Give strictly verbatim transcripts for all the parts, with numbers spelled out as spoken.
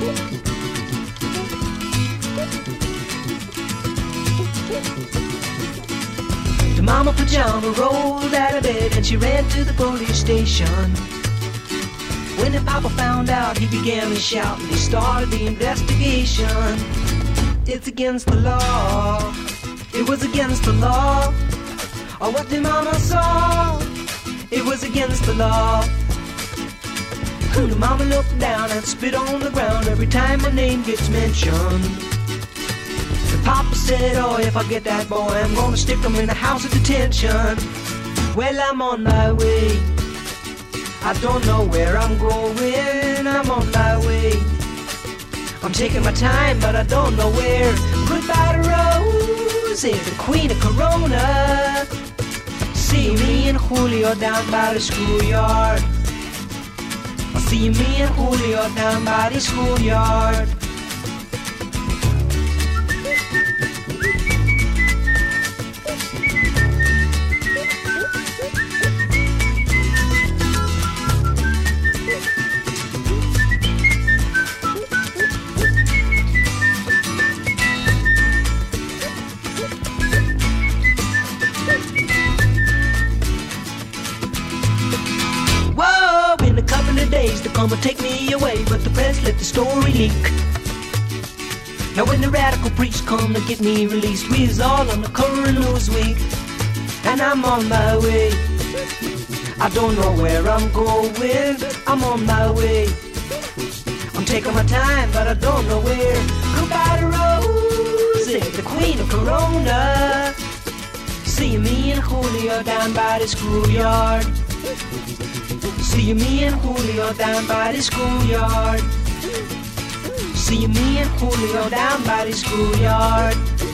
The mama pajama rolled out of bed and she ran to the police station. When the papa found out, he began to shout and he started the investigation. It's against the law. It was against the law. Or what the mama saw. It was against the law. The mama looked down and spit on the ground every time my name gets mentioned. The papa said, oh, if I get that boy, I'm gonna stick him in a house of detention. Well, I'm on my way. I don't know where I'm going. I'm on my way. I'm taking my time, but I don't know where. Goodbye to Rosie, the queen of Corona. See me and Julio down by the schoolyard. I'll see me and Julio down by the schoolyard. Come and take me away, but the press let the story leak. Now when the radical preach come to get me released, we is all on the current news week. And I'm on my way. I don't know where I'm going. I'm on my way. I'm taking my time, but I don't know where. Goodbye to Rosie, the queen of Corona. See me and Julio down by the schoolyard. See me and Julio down by the schoolyard. See me and Julio down by the schoolyard.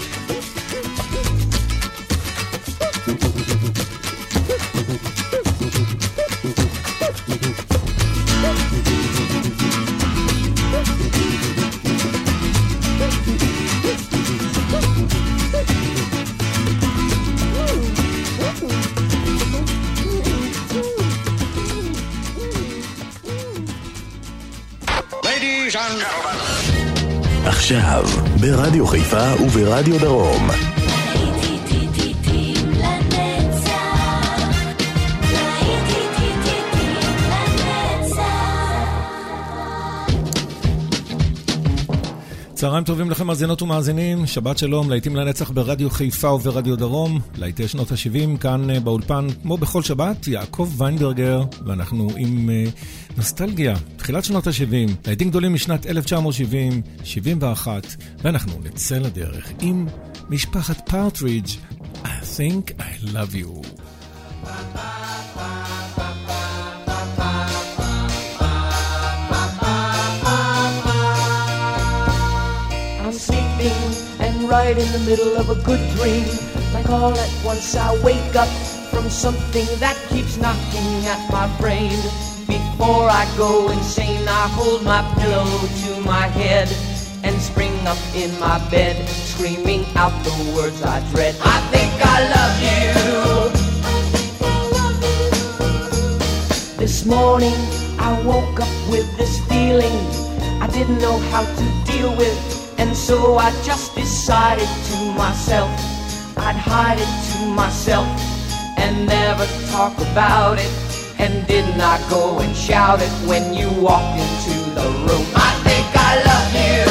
עכשיו, ברדיו חיפה וברדיו דרום. צהריים טובים לכם מאזינות ומאזינים, שבת שלום, להיטים לנצח ברדיו חיפה וברדיו דרום, להיטי שנות ה-שבעים, כאן באולפן, כמו בכל שבת, יעקב ויינברגר, ואנחנו עם נוסטלגיה, תחילת שנות ה-שבעים, להיטים גדולים משנת אלף תשע מאות שבעים, שבעים ואחת, ואנחנו נצא לדרך עם משפחת פרטריג' I think I love you. And right in the middle of a good dream, like all at once I wake up from something that keeps knocking at my brain. Before I go insane, I hold my pillow to my head and spring up in my bed, screaming out the words I dread. I think I love you. This morning I woke up with this feeling I didn't know how to deal with. And so I just decided to myself I'd hide it to myself and never talk about it. And did not go and shout it when you walked into the room. I think I love you.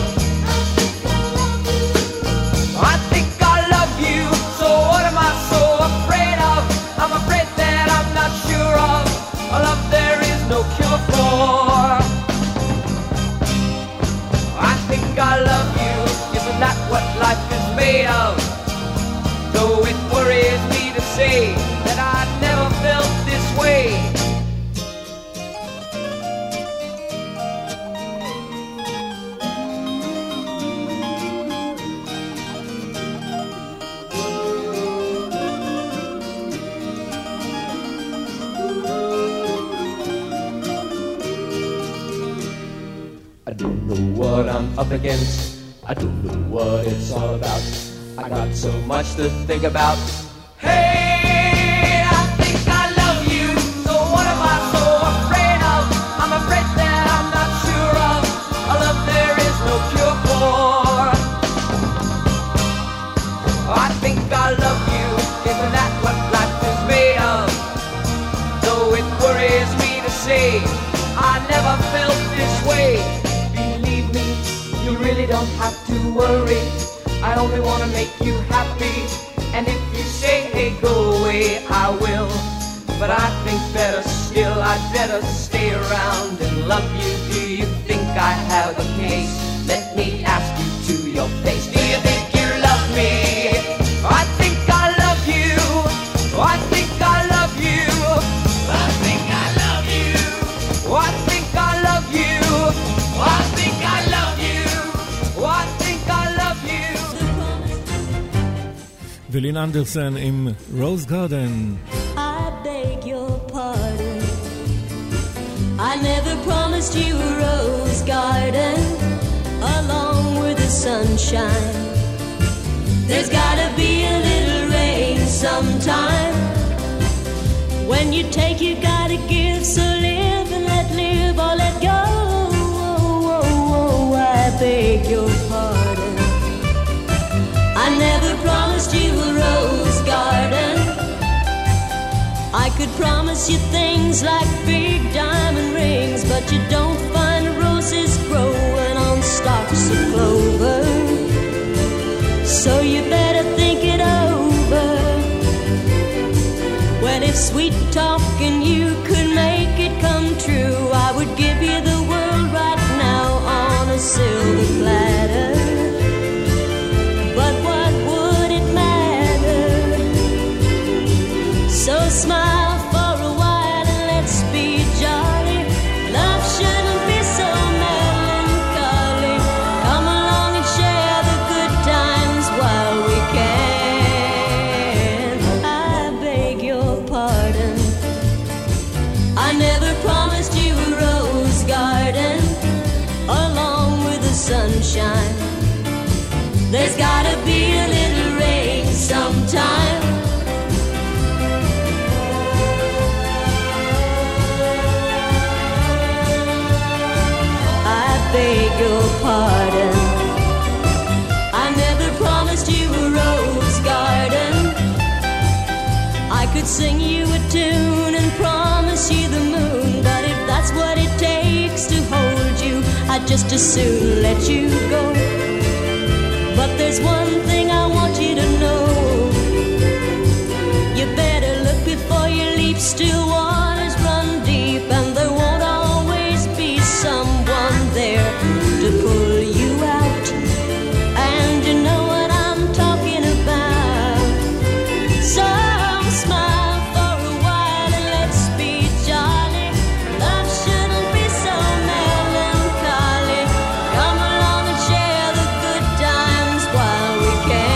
I think I love you. So what am I so afraid of? I'm afraid that I'm not sure of a love there is no cure for. I love you, isn't that what life is made of? Though it worries me to say that I never felt this way. I don't know what I'm up against. I don't know what it's all about. I got so much to think about. Hey, I think I love you. So what am I so afraid of? I'm afraid that I'm not sure of a love say I never felt this way. Believe me, you really don't have to worry. I only want to make you happy. And if you say, hey, go away, I will. But I think better still, I'd better stay around and love you. Do you think I have a case? Let me ask you to your face. Do you think you love me? I think I love you. I think I love you. I think I love you. I think I love you. I think I love you. I think I love you. ולין אנדרסון עם Rose Garden. I beg your pardon. I never promised you a rose garden along with the sunshine. There's gotta be a little rain sometime. When you take, you gotta give. So live and let live or let go. Oh, oh, oh, I beg your pardon. I never promised you a rose garden. I could promise you things like big diamond rings, but you don't find roses growing on stalks of clover. So you better think it over. Well, if sweet talking you could make it come true, I would give you the world right now on a silver platter. But what would it matter? So smile for a while and let's be jolly. Love shouldn't be so melancholy. Come along and share the good times while we can. I beg your pardon. I never promised you a rose garden along with the sunshine. There's gotta be a little rain sometime. I beg your pardon. I never promised you a rose garden. I could sing you a tune and promise you the moon, but if that's what it takes to hold you, I'd just as soon let you go. But there's one thing I want you to know. You better look before you leap. Still waters run deep, and there won't always be someone there to pull you out. And you know what I'm talking about. So smile for a while and let's be jolly. Love shouldn't be so melancholy. Come along and share the good times while we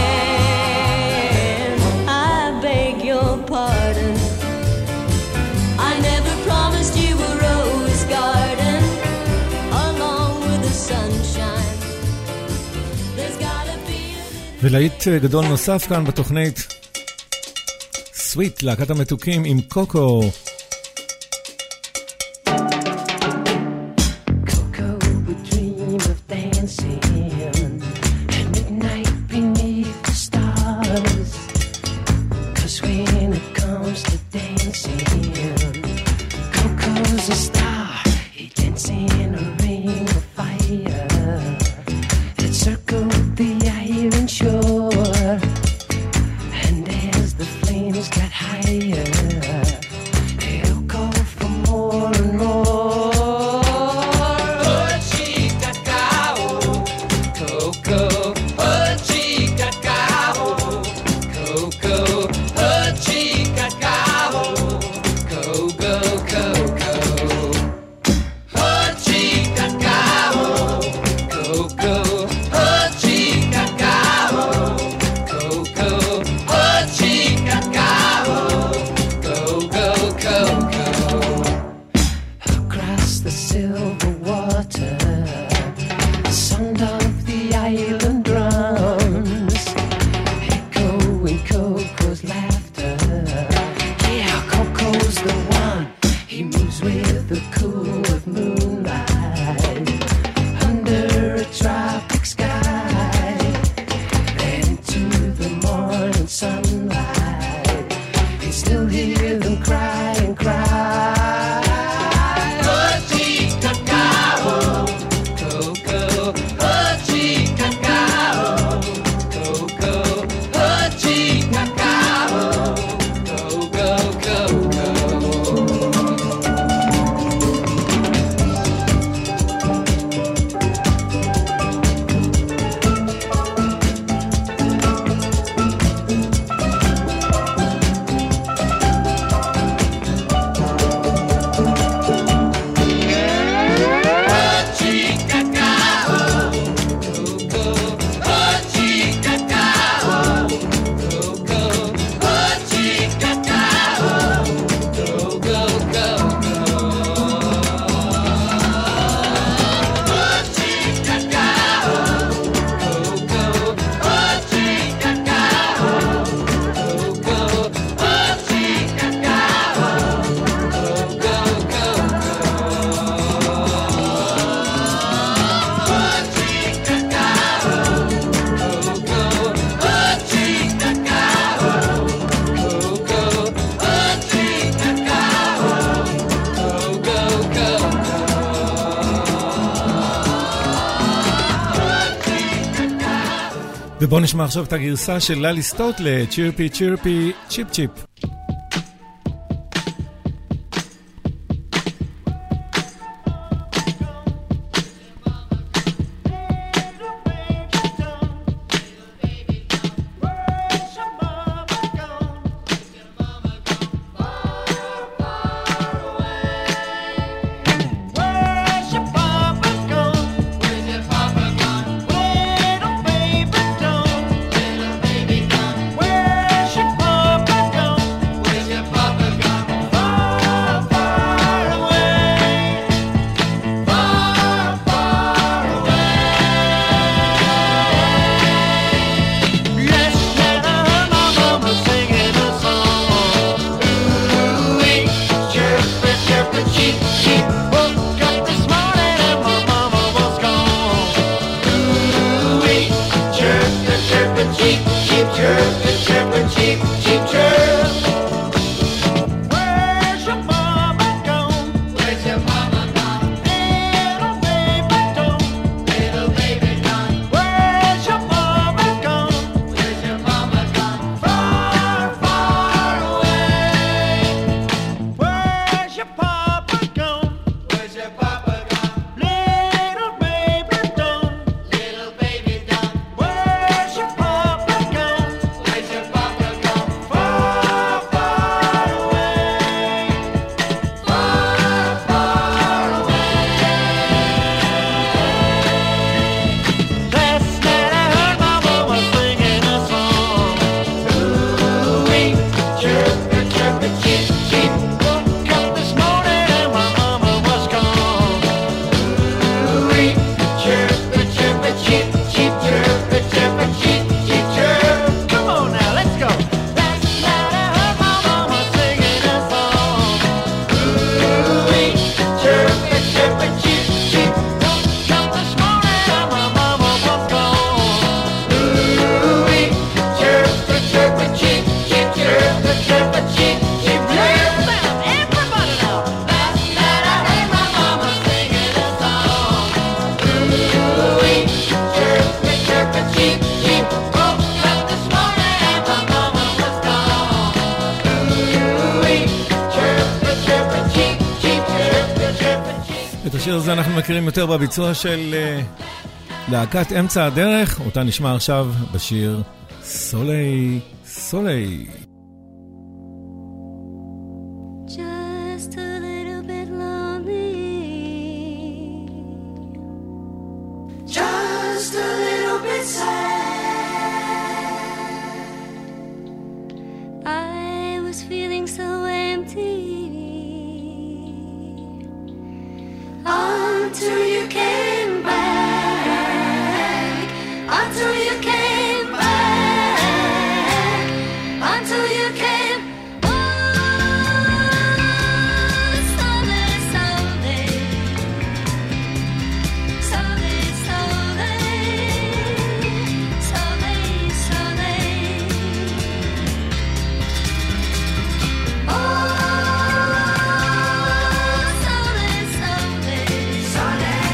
can. I beg your pardon. I never promised you a rose garden along with the sunshine. There's gotta be a little... ולהיט גדול נוסף כאן בתוכנית, סוויט, להקת המתוקים עם קוקו. Coco would dream of dancing at midnight beneath the stars. 'Cause when it comes to dancing, Coco's a star. He dances in a ring of fire that circled the island shore. And as the flames got higher, he'll call for more and more. Oh, chica cao, Coco. Oh, chica cao, Coco. Oh, chica cao, Coco, Coco. Oh, chica cao, Coco. Oh, chica cao, Coco. Oh, chica cao, Coco, Coco. Across the silver water, the sound of the island drums, echoing Coco's laughter. Yeah, Coco's the one. He moves with the cool of moonlight under a tropic sky. Then into the morning sunlight, you still hear them cry and cry. ובואו נשמע עכשיו את הגרסה של ללי סטוט לצ'ירפי צ'ירפי צ'יפ צ'יפ. השיר הזה אנחנו מכירים יותר בביצוע של uh, להקת אמצע הדרך, אותה נשמע עכשיו בשיר סולי סולי. Just a little bit lonely, just a little bit sad. I was feeling so empty until you came back, until you came back, until you came. Oh, someday, someday, someday, someday, someday, someday. Oh, someday, someday.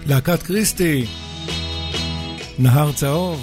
להקת קריסטי, נהר צהוב.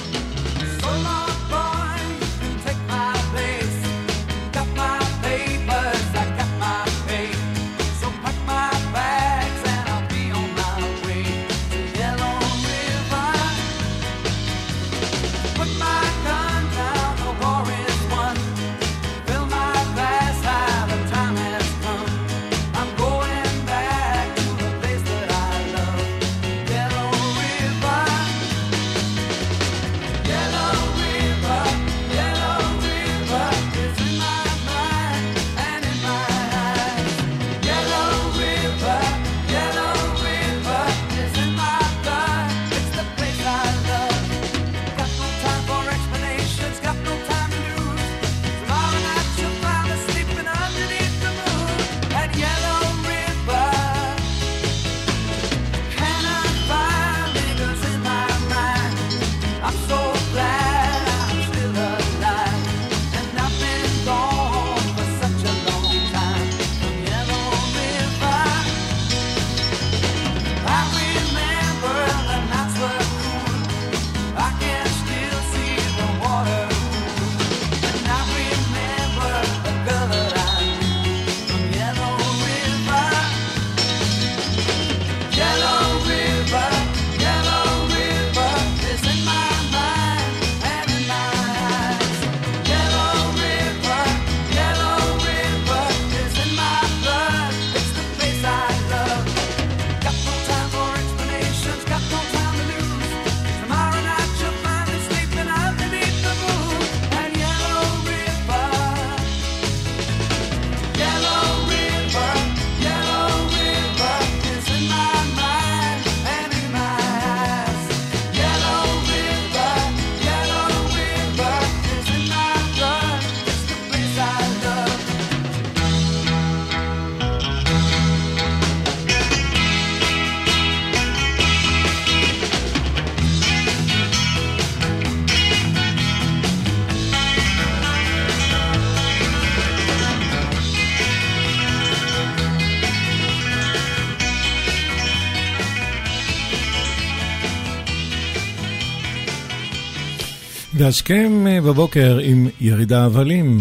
והשכם בבוקר עם ירידה אבלים.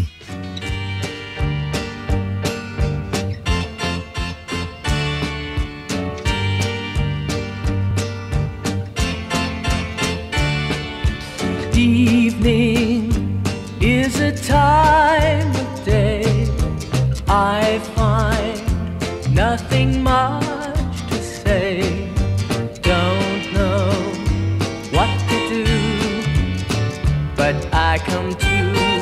Evening is a time of day I find nothing much to say. Don't know what to do, but I come to.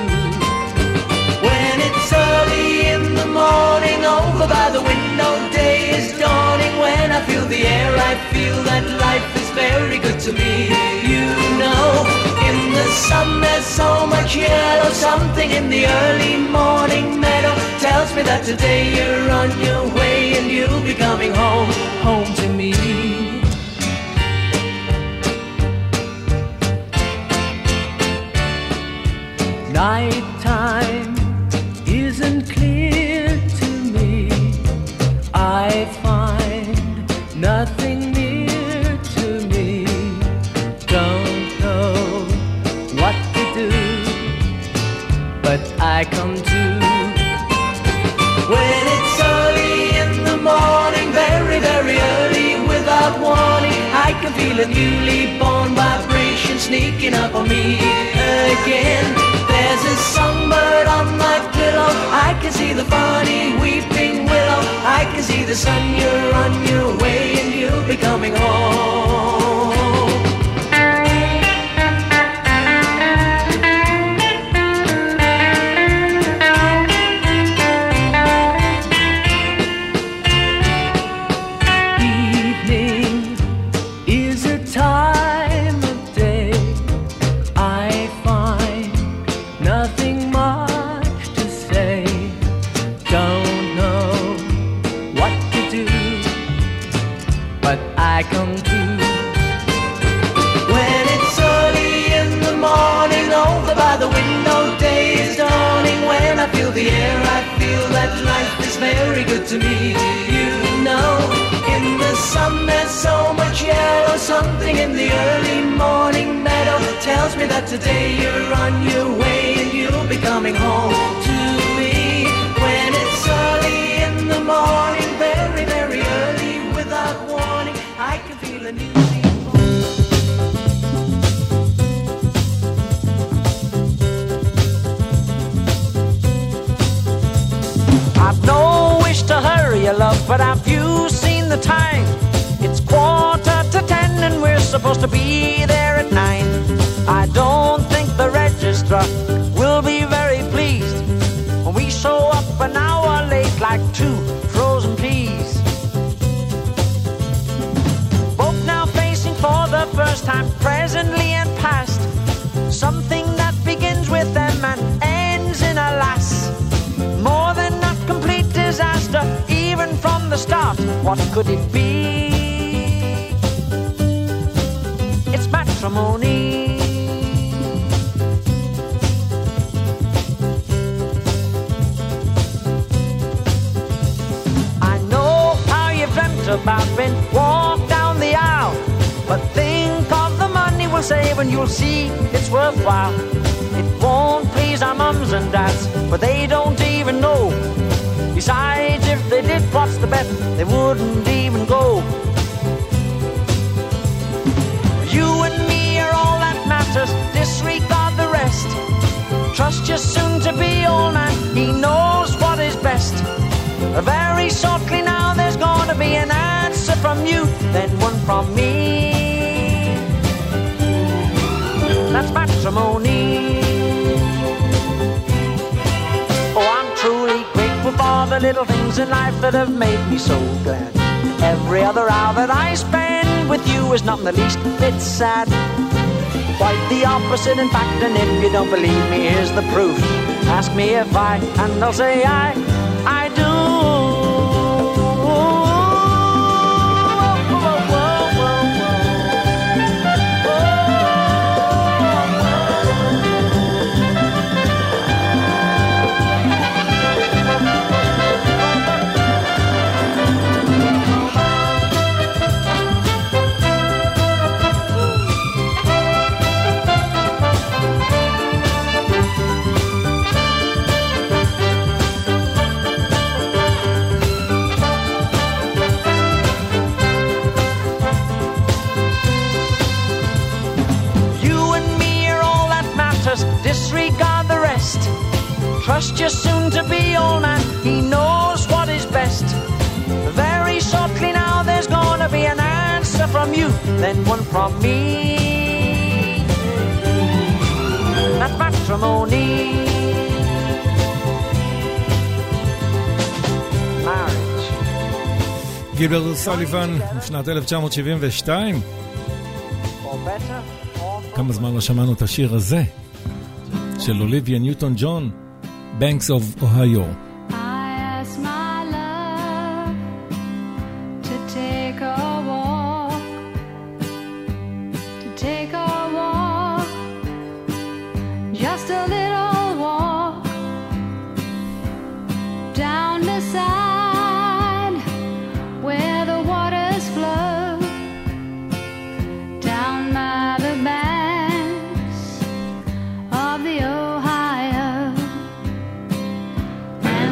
When it's early in the morning, over by the window, day is dawning. When I feel the air, I feel that life is very good to me. You know, in the sun there's so much yellow. Something in the early morning meadow tells me that today you're on your way and you'll be coming home, home to me. Nighttime isn't clear to me. I find nothing near to me. Don't know what to do, but I come to. When it's early in the morning, very, very early, without warning, I can feel a newly born vibration sneaking up on me again. There's a songbird on my pillow, I can see the funny weeping willow, I can see the sun, you're on your way and you'll be coming home. I come to. When it's early in the morning, over by the window, day is dawning. When I feel the air, I feel that life is very good to me. You know, in the sun there's so much meadow, something in the early morning meadow tells me that today you're on your way and you'll be coming home to me. When it's early in the morning, very, very early, without warning, I can feel a new sea. I've no wish to hurry you, love, but have you seen the time? It's quarter to ten and we're supposed to be there at nine. I don't think the registrar will be very pleased when we show up an hour late like two frozen peas. Both now facing for the first time, presently and past, something that begins with them and ends in a lass. More than a complete disaster, even from the start. What could it be? It's matrimony. I know how you've dreamt about being walked down the aisle, but think of the money we'll save and you'll see it's worthwhile. It won't please our mums and dads, but they don't even know. Besides, if they did, what's the bet? They wouldn't even go. You and me are all that matters, disregard the rest. Trust your soon-to-be old man, he knows what is best. Very shortly now there's gonna be an answer from you, then one from me. That's matrimony. Oh, I'm truly grateful for the little things in life that have made me so glad. Every other hour that I spend with you is not in the least bit sad. Quite the opposite, in fact, and if you don't believe me, here's the proof. Ask me if I, and I'll say I, I do. Disregard the rest. Trust your soon-to-be old man, he knows what is best. Very shortly now there's gonna be an answer from you, then one from me. That's matrimony. Marriage. גיבר סוליבן, בשנת אלף תשע מאות שבעים ושתיים. כמה זמן לא שמענו את השיר הזה של אוליביה ניוטון ג'ון, Banks of Ohio. And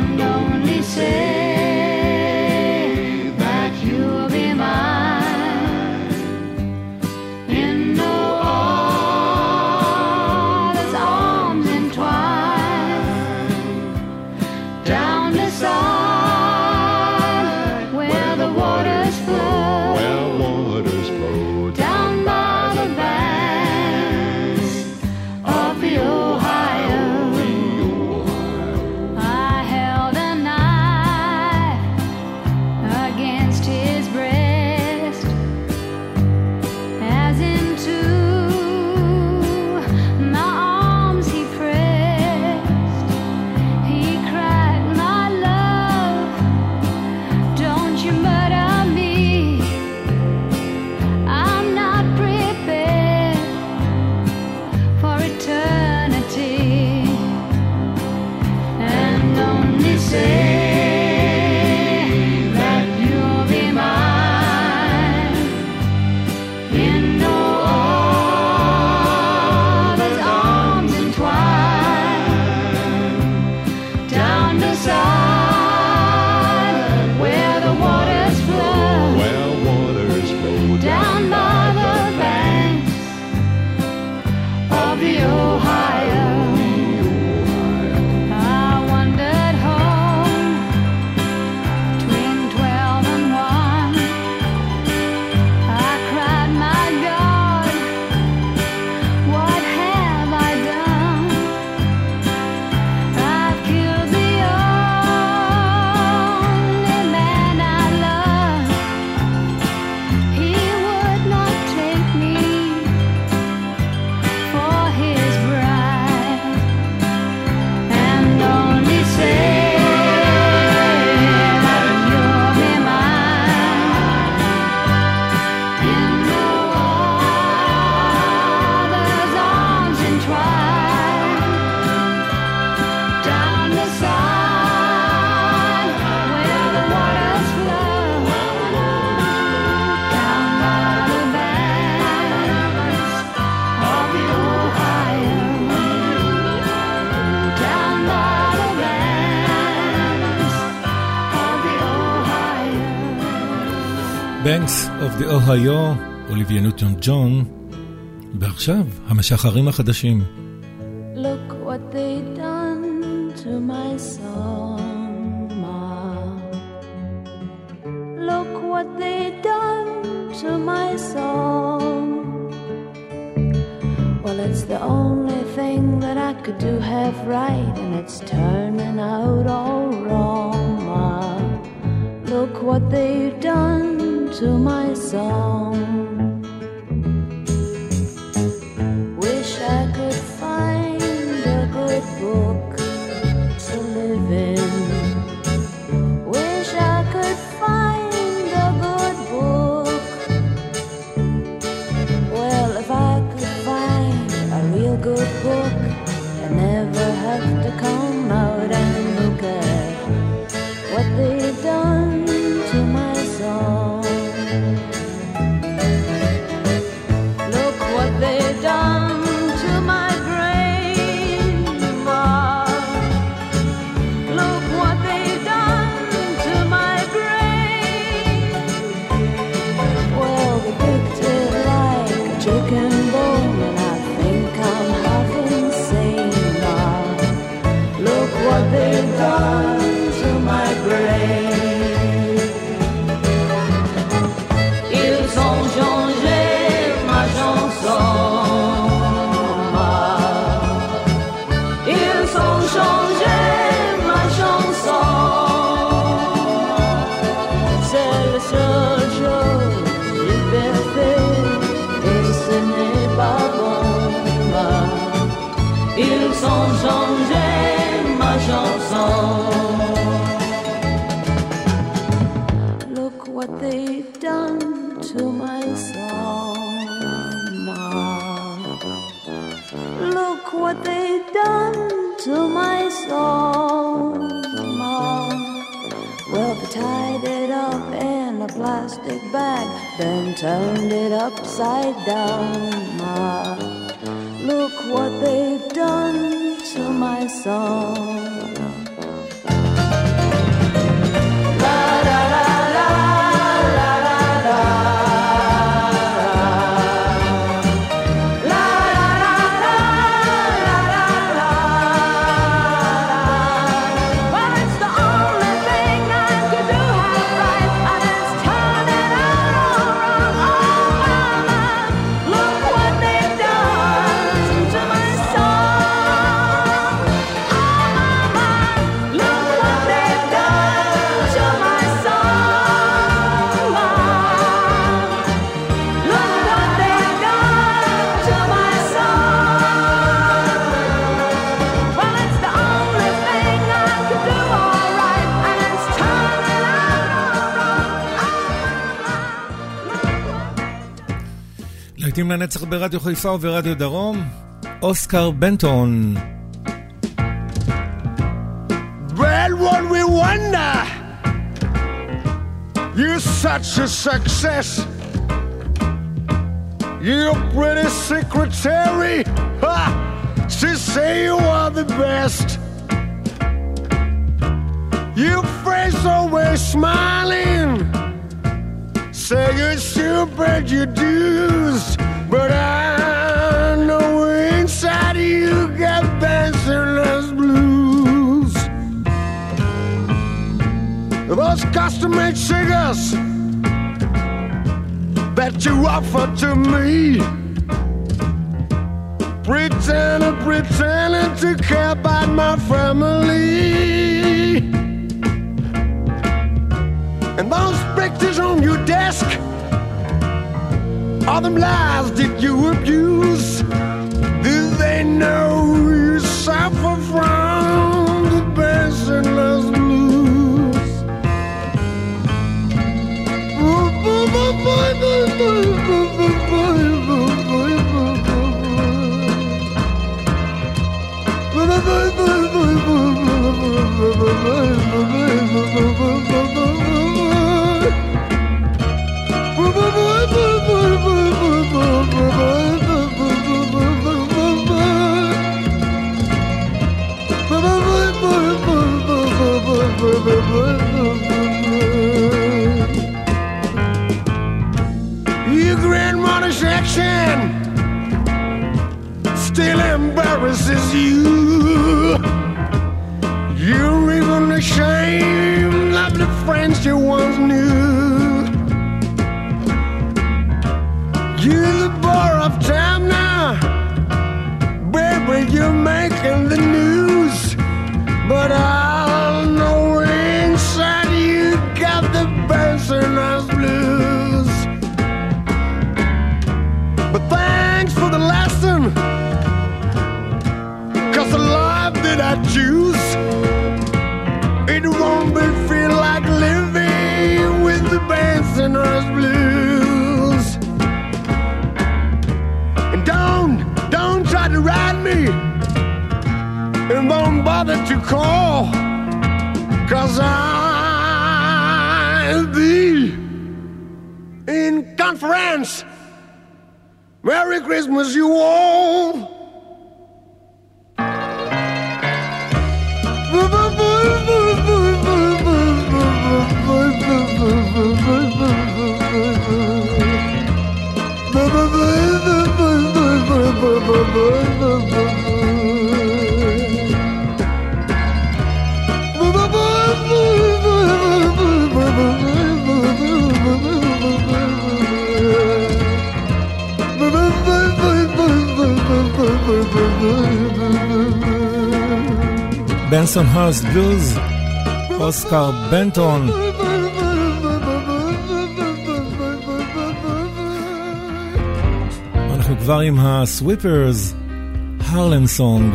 Banks of the Ohio, אוליביה ניוטון ג'ון, ועכשיו המשחרים החדשים. Look what they done to my song, Ma. Look what they done to my song. Well, it's the only thing that I could do half right, and it's turning out all wrong, Ma. Look what they've done to my song. Wish I could find a good book to live in. Wish I could find a good book. Well, if I could find a real good book, I'd never have to come out and look at what they've done to my song. Look what they've done to my brain, Ma. Look what they've done to my brain. Well, they picked it like a chicken bone, and I think I'm half insane, Ma. Look what they've done to my brain. Ils ont changé ma chanson, Ma. Ils ont changé ma chanson. C'est la seule chose que j'ai fait, et ce n'est pas bon, Ma. Ils ont changé ma chanson. Look what they've done to my song, Ma. Look what they've done to my song, Ma. Well, they tied it up in a plastic bag, then turned it upside down, Ma. Look what they've done to my song. La la la la la la la. La la la la la la la. Well, it's the only thing I could do half right, and it's turning out all wrong. Oh, Mama, look what they've done to my song. Oh, Mama, look what they've done to my song, Ma. Look what they've done to my song. Well, it's the only thing I could do all right, and it's turning out all wrong. להיטים לנצח ברדיו חיפה וברדיו דרום, אוסקר בנטון. Well, what we wonder, you're such a success. Your pretty secretary, ha, she say you are the best. Your face always smiling, say you should pay your dues, but I know inside you got dancerless blues. Those custom-made cigars that you offer to me, pretending, pretending to care about my family. And those pictures on your desk, all them lies that you abuse, do they know you suffer from the passionless blues? embarrasses you. You're even ashamed of the friends you once knew. You're the bore of time now, baby, you're making the news. But I'll know inside you got the Bensonhurst blues. But thanks for the lesson, 'cause the life that I choose, it won't be feel like living with the Bensonhurst blues. And don't, don't try to ride me, and don't bother to call, 'cause I'll be in conference. Merry Christmas, you all. Bensonhurst Blues, אוסקר בנטון. אנחנו כבר עם הסוויפרס, הרלם סונג.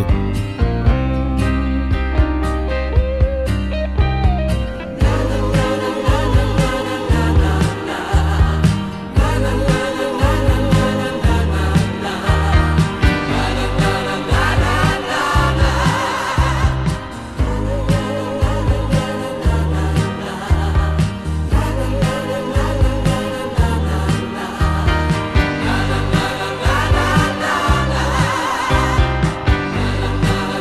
La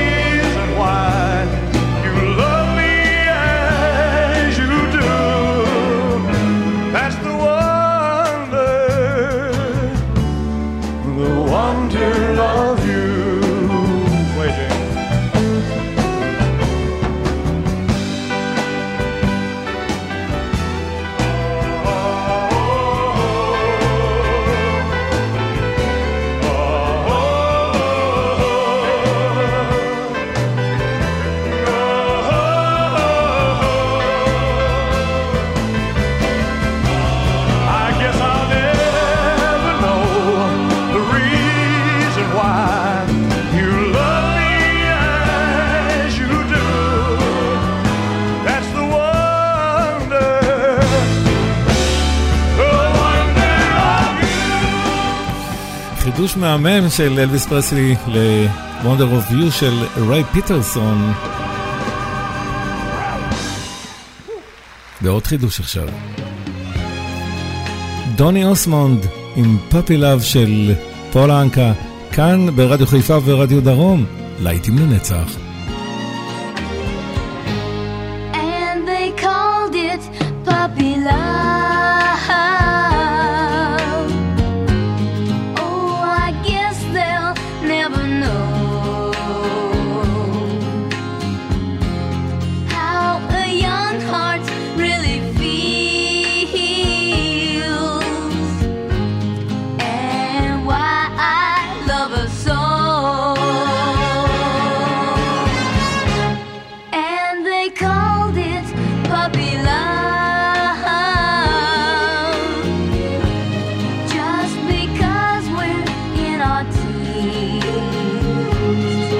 חידוש מהמם של אלוויס פרסלי ל-Wonder of You של ריי פיטרסון. ועוד חידוש עכשיו. דוני אוסמונד עם פאפי לאב של פולה אנקה, כאן ברדיו חיפה ורדיו דרום, להיטים לנצח. And they called it puppy love. Oh, I guess they'll never know how a young heart really feels and why I love her so. And they called it puppy love just because we're in our teens.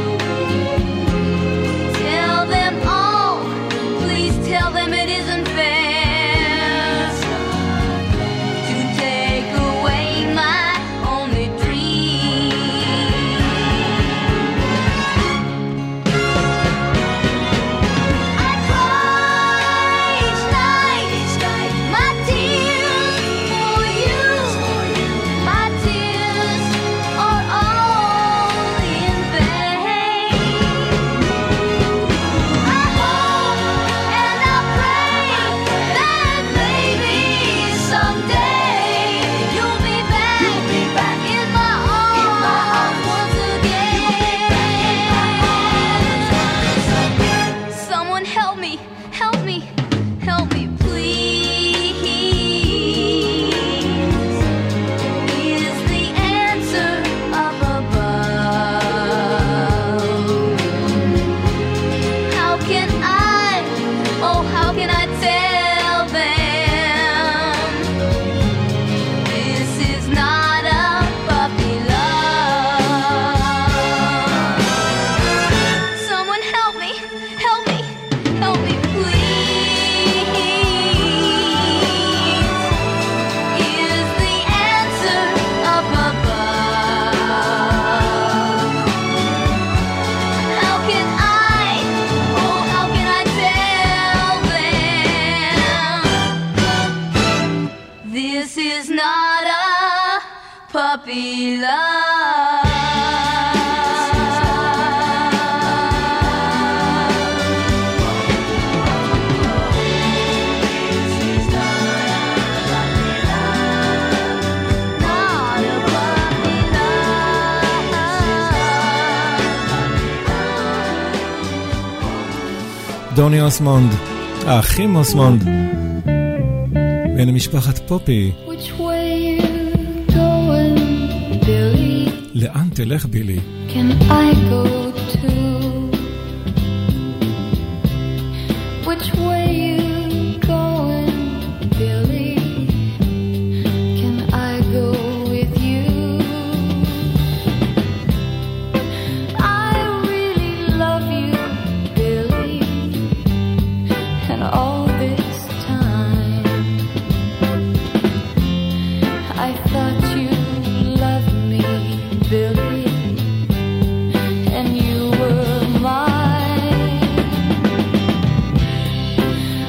Tell them all, please tell them it isn't fair to take away my only dream. I cry each night, my tears for you. My tears are all in vain. I hope and I pray that maybe someday you'll be back in my arms once again. Someone help me, help me, help me, please. Is the answer up above? How can I, oh, how can I tell them this is not a puppy love? Someone help me, help me, help me, please. Is the answer up above? How can I, oh, how can I tell them this is not a puppy love? Not a puppy love. דוני אוסמונד, האחים אוסמונד, בין משפחת פופי. Which way you going, Billy? לאן תלך בילי? Can I go too? Which way you going, Billy? Can I go with you? I really love you, Billy, and all this time I thought you loved me, Billy, and you were mine.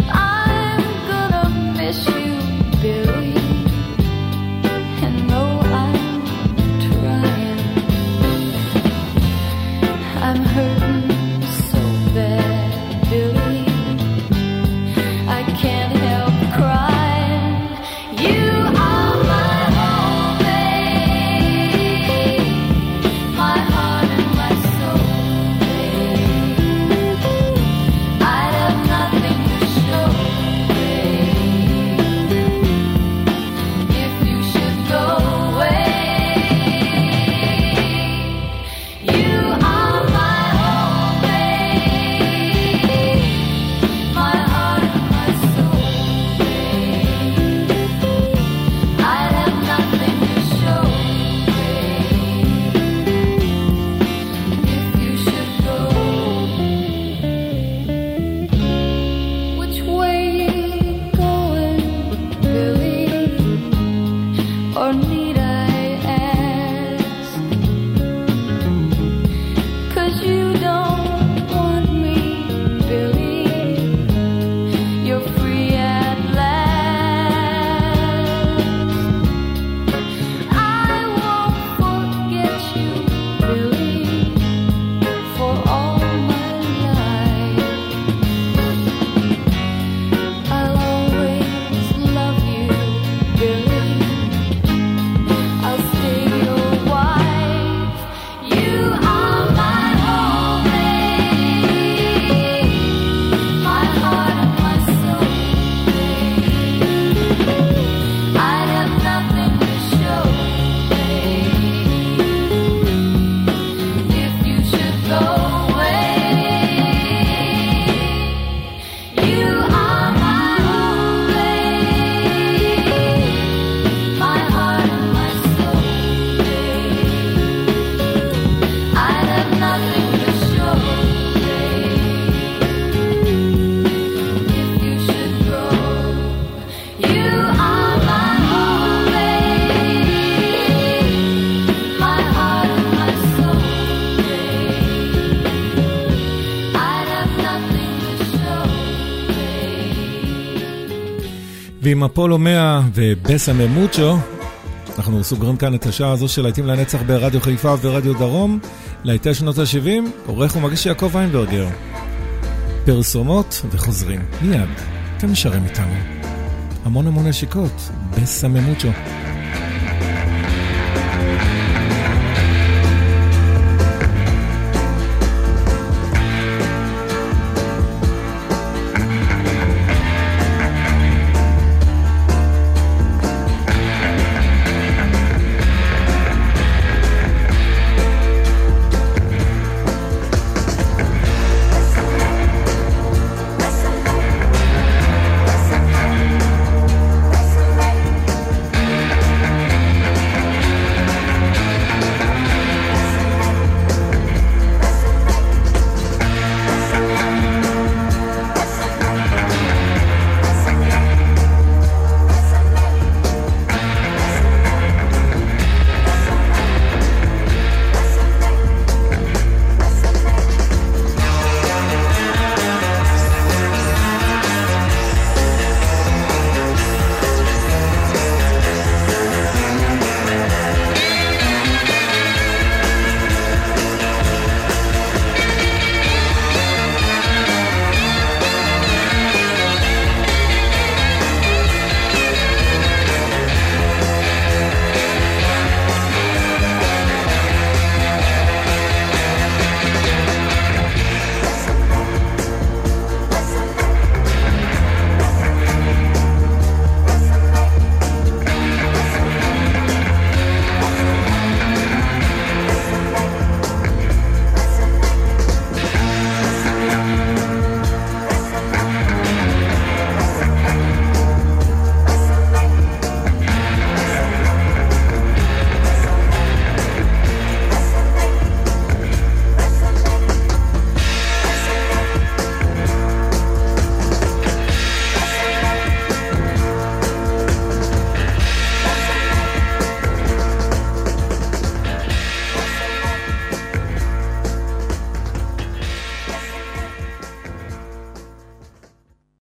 ועם אפולו מאה ובסמה מוצ'ו, אנחנו סוגרים כאן את השעה הזו של להיטים לנצח ברדיו חיפה וברדיו דרום, להיטי שנות ה-שבעים, עורך ומגיש יעקב ויינברגר. פרסומות וחוזרים. מיד, אתם נשארים איתנו. המון המון נשיקות, בסמה מוצ'ו.